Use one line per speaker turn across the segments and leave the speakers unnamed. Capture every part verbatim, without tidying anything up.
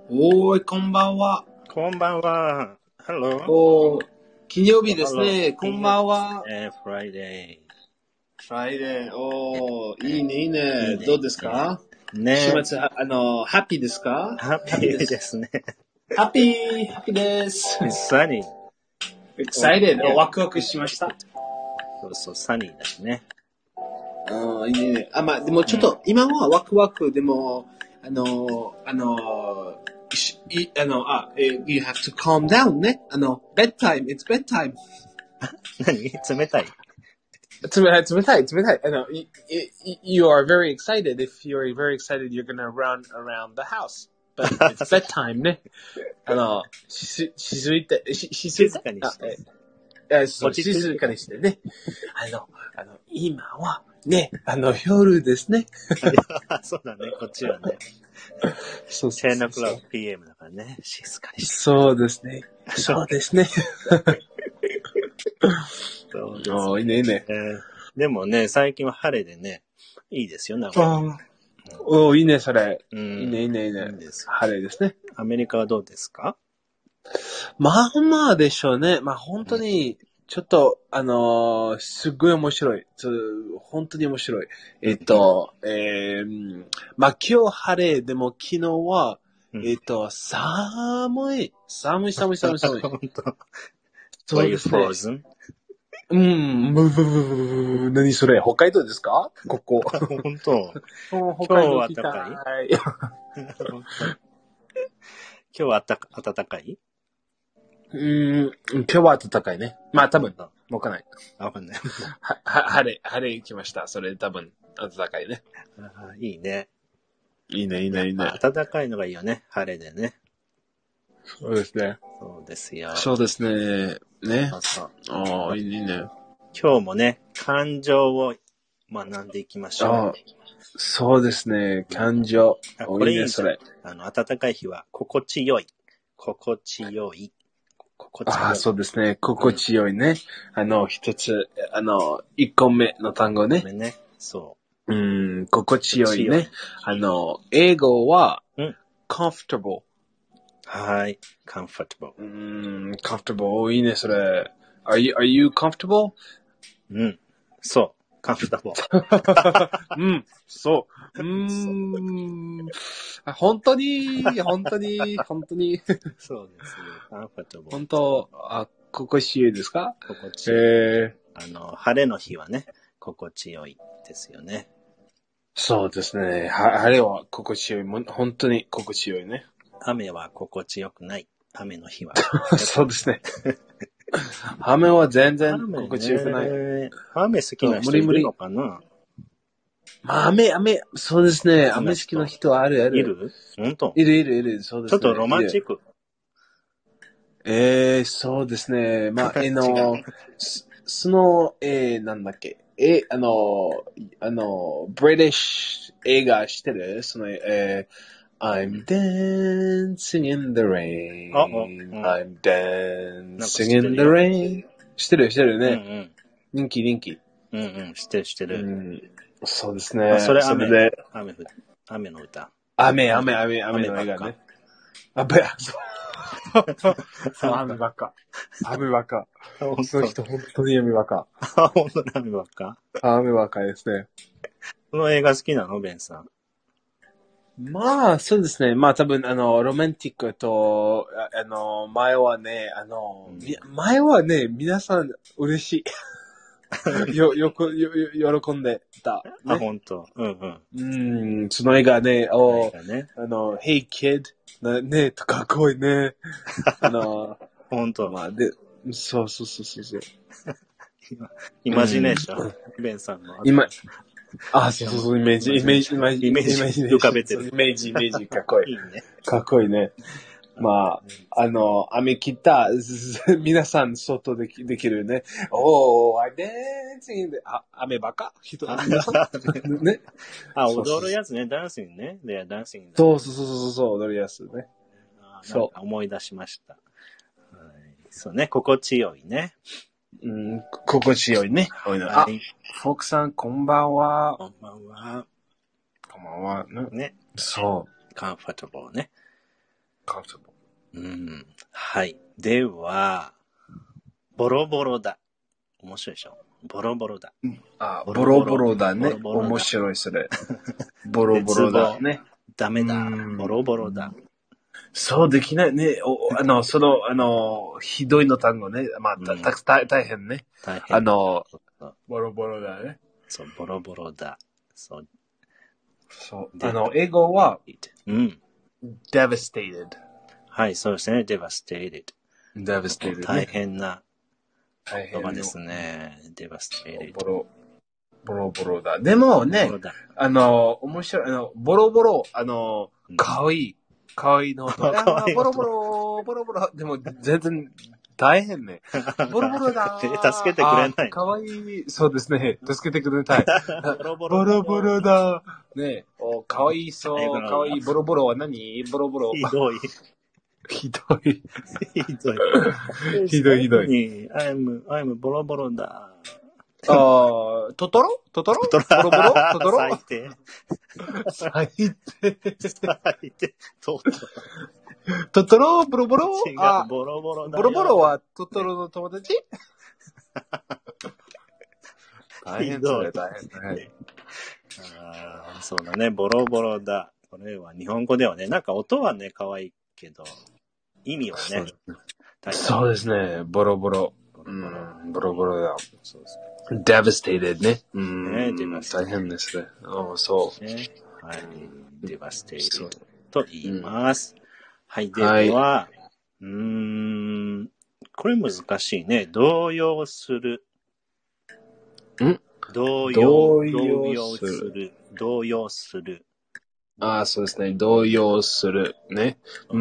おーい、こんばんは。
こんばんは。Hello.
おー、金曜日ですね。こんばんは。
えー、Friday。
フライデー。おー、いいね、いいね。
いいね
どうですか
ね
週末、あの、ハッピーですか
ハッピーですね。
ハッピー、ハッピーです。
It's sunny.
excited. ワクワクしました。
そうそう、サニーだしね。
ああ、いいね。あ、まあ、でもちょっと、今はワクワク、でも、あの、あの、しいあの、あ、え you have to calm down ね。あの、bedtime, it's bedtime.
何冷たい
冷たい、冷たい、冷たい。あの、you, you are very excited. If you're very excited, you're gonna run around the house. But it's bedtime ね。あの、し、しずいて、し、しずいて。
静かにして。
え、そう、静かにしてね。あの、あの、今は、ね、あの、夜ですね。
そうだね、こっちはね。
そう
じゅう o'clock ピーエム だからね、静かにして。
そうですね。そうですね。
そうです、
おー、いいね、いいね。
えー。でもね、最近は晴れでね、いいですよ、なんか。
おー、いいね、それ。
うん、
いいね、いいね、いいね。
いいです。
晴れですね。
アメリカはどうですか？
まあまあでしょうね。まあ本当に、ちょっと、あのー、すっごい面白い。本当に面白い。えっと、えー、まあ今日晴れ、でも昨日は、
うん、
えっと、寒い。寒い、寒い、寒い、寒い。
本当。
そうですね。
Frozen?
うん、ブブブブブ何それ北海道ですかここ。
本当。
北海道来た
今日は暖かい今日はあったか暖かいう
ーん、今日は暖かいね。まあ多分、わかんない。
わかんない。
は、は、晴れ、晴れ来ました。それ多分、暖かいね。
あいいね。
いいね、いいね、いいね。
暖かいのがいいよね。晴れでね。
そうですね。
そうですよ。
そうですね。ね。
そうそう。
ああ、いいね。
今日もね、感情を学んでいきましょう。
ああ、そうですね。感情。
あこれいいね、
それ。
あの、暖かい日は、心地よい。心地よい。心地よい。
ああ、そうですね。心地よいね。うん、あの、一つ、あの、一個目の単語ね。
ね。そう。
うん、心地よいね。あの、英語は、うん、comfortable。
はい。comfortable。
うん、comfortable。いいね、それ。Are you, are you comfortable?
うん。そう。comfortable。
うん、そう。うーん。本当に、本当に、本当に。
そうですね。comfortable。
本当、あ、心地よいですか？
心地よい。えー、あの、晴れの日はね、心地よいですよね。
そうですね。は晴れは心地よい。も本当に心地よいね。
雨は心地よくない。雨の日は。
そうですね。雨は全然心地よくない。
雨、雨好きな人いるのかな？
まあ、雨、雨、そうですね。雨好きな人はあるある。
いる？本当？
いるいるいる。そうですね。
ちょっとロマンチック。
ええー、そうですね。まあ、えの、その、えー、なんだっけ。え、あの、あの、ブリティッシュ映画してるその、えー、I'm dancing in the rain.
あ、うん、
I'm dancing in the rain. してるしてるね。うんうん、人気人気。
うんうん、してるしてる。
うん、そうですね。
それ雨、
それで
雨、雨の歌。
雨、雨、雨、雨の映画ね。雨、そう。そう、雨ばっか。雨ばっか。その人、本当に雨ばっか。
あ、本当に雨ばっか？
雨ばっかですね。
この映画好きなのベンさん。
まあ、そうですね。まあ、多分、あの、ロマンティックと、あ, あの、前はね、あの、うん、前はね、皆さん、嬉しい。よ、よく、よ、喜んでた、
ね。あ、本当。うんうん。
うん、その映画ね、お、ね、あの、Hey Kid、ね、かっこいいね。あの、
本当。
まあ、で、そうそうそうそうそう。
イマジネーション、うん、ベンさんの。
今、あ、そうそうそう、イメージ、イメージ、イメージ、
イメージ浮かべてる。
イメージ、イメージ、かっこいい。
いいね。
かっこいいね。まあ、あの、雨来た、皆さん外でできるね。おー、I dancing で、あ、雨ばか人、皆さんね。
あ、踊るやつね、ダンシングね。で、ダンシング。
そうそうそうそうそう、踊るやつね。
そう。思い出しました。そうね、心地よいね。
うん、心地よいね。あ、フォークさん、こんばんは。
こんばんは。
こんばんは。
ね。
そう。
comfortable ね。
comfortable.
うん。はい。では、ボロボロだ。面白いでしょ。ボロボロだ。
あ、ボロボロだね。
ボロボロだ
面白いそれ。ボロボロだね。
ダメだ。
うん
ボロボロだ。
そうできないね。おあの、その、あの、ひどいの単語ね。まあ、た
うん
たた大変ね。
大変。
あの
そう、
ボロボロだね。
そう、ボロボロだ。そう。
そう。
で
あの、英語は、
うん。
devastated。
はい、そうですね。devastated。
devastated ね。
大変な
大変
言葉ですね。devastated。
ボロ、ボロボロだ。でもね
ボロ、だ
あの、面白い、あの、ボロボロ、あの、かわいい。かわいいの音。
かわいい音
ボロボロ、ボロボロ。でも、全然、大変ね。ボロボロだ。
助けてくれない。
かわいい。そうですね。助けてくれたい。
ボロボロ。
ボロボロだ。ねお、かわいそう。かわいい。ボロボロは何ボロボロ。
ひどい。
ひどい。
ひどい。
ひどいひどい。
I'm, I'm ボロボロだ。
あー、トトロトトロ
ト
ボロボロトトロ
最低。
最低。
最低。トトロ。
トトロボロボロ
違う、
あ、
ボロボロだよ。
ボロボロはトトロの友達大変それ、大変。はい、
あーそうだね、ボロボロだ。これは日本語ではね、なんか音はね、可愛いけど、意味はね、
そうですね、ボロボロ。
ボロボロ。
うん、ボロボロだ。
そうです
devastated ね。うん、
ね devastated
大変ですね。あそう。
ね、はい。devastated と言います。うん、はい、では、
はい、
うーん、これ難しいね。動揺する。
ん
動揺、
動
揺
揺する。
動揺する。
ああ、そうですね。動揺する。ね。うん。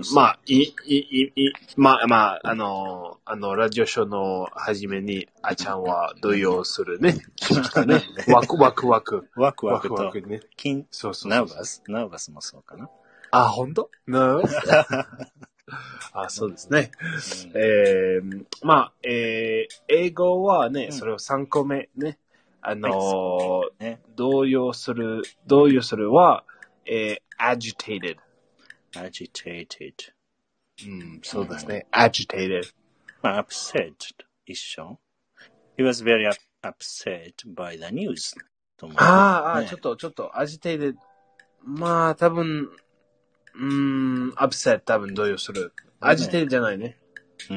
まあ、い、い、い、い、まあ、まあ、あの、あの、ラジオショーの初めに、あちゃんは動揺するね。ね。ワクワクワク。
ワクワクと。
ワクワクね。
金、
そうそうそう。
ナーバスナーバスもそうかな。
あ、ほんとナーバスあ、そうですね。うん、えー、まあ、えー、英語はね、うん、それをさんこめね。あのーはい、ね、動揺する、動揺するは、えー、agitated。
agitated。
うん、そうですね。うん、agitated。
まあ、upset 一緒。He was very upset by the news.
ああ、ちょっと、ちょっと、agitated。まあ、多分、うーん、upset 多分動揺する。agitated じゃないね。
うん。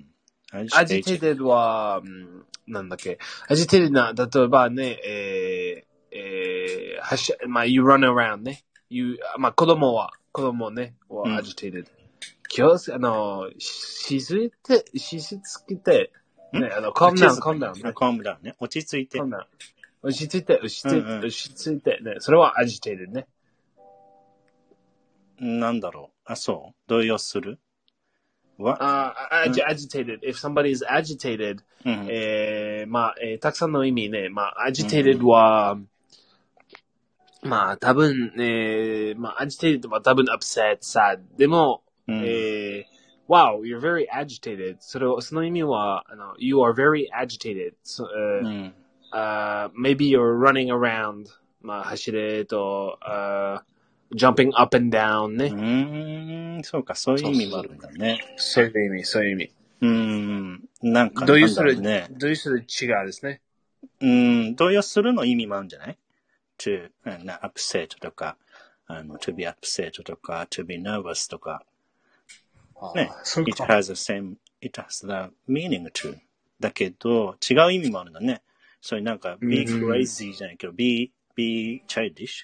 agitated は、なんだっけ。agitated な、例えばね、えー、えー、はし、まあ、you run around ね。you、まあ、子供は、子供ね、は agitated。気をつけ、あの、しすぎて、しすぎて、ね、あの、calm down, calm down ね。
calm down ね。落ち着いて。
calm down。落ち着いて、落ち着いて、落ち着いて、ね。それは agitated ね。
なんだろう。あ、そう。動揺する
What? Uh, ag- agitated. If somebody is agitated,
うん、
えー、まあ、えー、たくさんの意味ね。まあ、agitated は、うん、まあ、多分、えー、まあ、agitated は多分 upset, sad. でも、うん、えー、wow, you're very agitated. それ、その意味は、あの、you are very agitated. So, uh, うん uh, maybe you're running around. まあ、走れと、uh, jumping up and down ね。
うーん、そうか、そういう意味もあるんだね。
そういう意味、そういう意味。
うーん、なんか、
動揺する、
ね。
動揺する違うですね。
うーん、動揺するの意味もあるんじゃない ?to, upset とか、あの、to be upset とか、to be nervous とか。ね。it has the same, it has the meaning to. だけど、違う意味もあるんだね。そういうなんか、be crazy じゃないけど、be, be childish。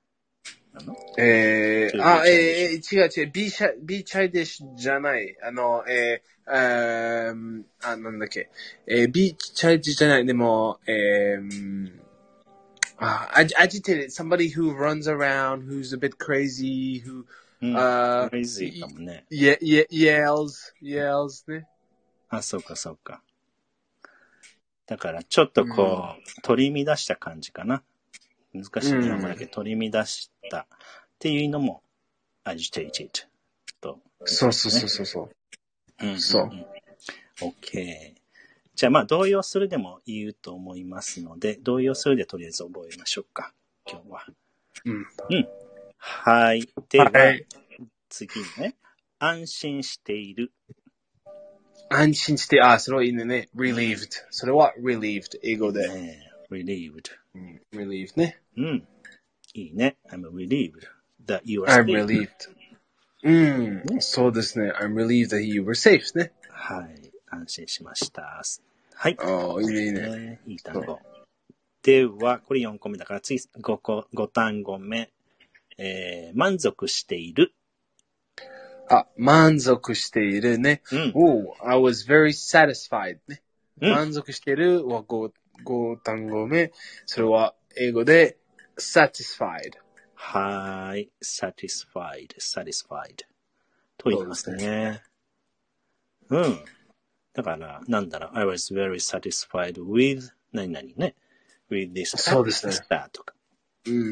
えー、あ、えー、違う違う、be shy, be childish じゃない。あの、えー、あー、あ、なんだっけ。えー、be childish じゃない。でも、えー、あ、agitated, somebody who runs around, who's a bit crazy, who,
うん、
uh,
crazy かもね。
ye, ye, yells, yells ね。
あ、そうかそうか。だから、ちょっとこう、うん、取り乱した感じかな。難しい日本語だけど、取り乱したっていうのも agitated と、ね。
そうそうそうそうそう。
うん、うん、
そう。
OK。じゃあまあ動揺するでも言うと思いますので、動揺するでとりあえず覚えましょうか。今日は。
うん。
うん。はい。では、はい、 次ね。安心している。
安心して、あ、それはいいね。relieved。それは relieved。英語で。
ね、relieved、
うん、relieved ね。
うん。いいね。I'm relieved that you are
I'm
safe.
relieved. うん、ね、そうですね。I'm relieved that you were safe ね。
はい。安心しました。はい。
ああ、いいね、いいね。
いい単語。では、これよんこめだから、次ごこ、ご単語目。えー、満足している。
あ、満足しているね。
うん。
お、I was very satisfied ね。
うん、
満足しているはご、ご単語目。それは英語で satisfied。
はい。satisfied, satisfied と言いますね。うん。だから、なんだろう、I was very satisfied with 何々ね。with this
そうですね。
とか。
うん。うん、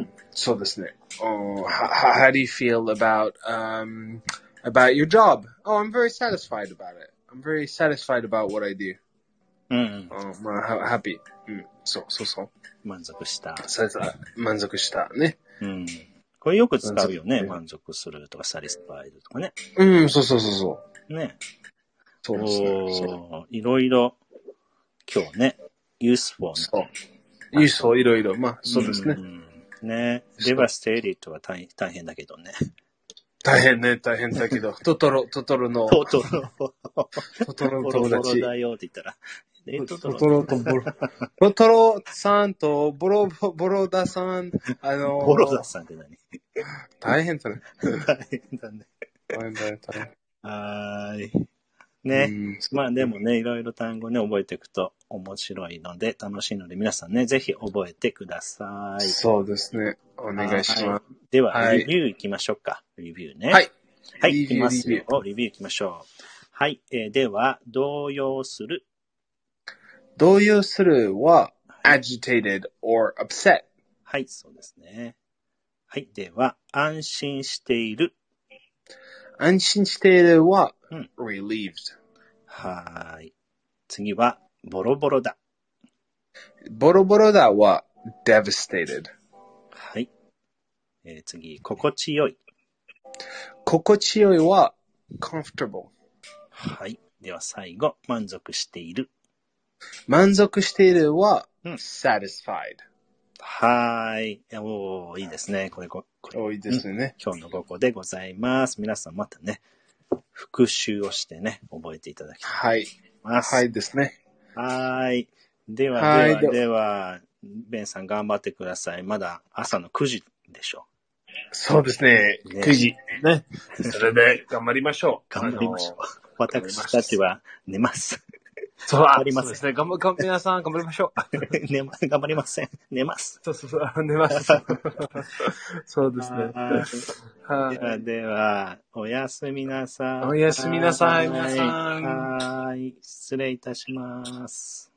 そうですね。Oh, how, how do you feel about, um, about your job? Oh, I'm very satisfied about it. I'm very satisfied about what I do.
うん。
Oh, まあ、happy. うん。そうそうそう。
満足した。
満足したね。
うん。これよく使うよね。満足するとか、satisfied とかね。
うん、そうそうそうそう。
ね。
そうですね。
おいろいろ、今日ね、useful な。
そう。useful いろいろ。まあ、そうですね。
うんうん、ね。devastated は大大変だけどね。
大変ね、大変だけど。トトロ、トトロの。
トトロ。
トトロの友達。
ボロボロだよって言ったら。
え、トトロ。トトロとボロ。トトロさんとボロボロダさん、あのー、
ボロダさんって何？
大変だね。
大変だね。
大変だね、大変。
はーい。ね。まあでもね、いろいろ単語ね、覚えていくと面白いので、楽しいので、皆さんね、ぜひ覚えてください。
そうですね。お願いします。
では、はい、レビュー行きましょうか。レビューね。
はい。
はい、行きますよ。レビュー行きましょう。はい。えー、では、動揺する。
動揺するは、agitated or upset。
はい、そうですね。はい。では、安心している。
安心しているは、うん、relieved。
はい。次は、ボロボロだ。
ボロボロだは、devastated。
はい。えー、次、心地よい。
心地よいは、comfortable。
はい。では最後、満足している。
満足しているは、
うん、
satisfied。
はい。おー、いいですね。これ、これ。
多いですね、
うん。今日のごこでございます。皆さんまたね、復習をしてね、覚えていただきたいと思います。
はい。はいですね。
はい。では、では、では、ベンさん頑張ってください。まだ朝のくじでしょう。
そうですね。ねくじ。ね。それで頑張りましょう。
頑張りましょう。私たちは寝ます。
そう、頑張ります。そうですね。頑張、頑張、皆さん頑張りましょう。
寝ま、頑張りません。寝ます。
そうそうそう、寝ます。そうですね。
はい。では、では、おやすみなさい。
おやすみなさい、皆さん。
はい。失礼いたします。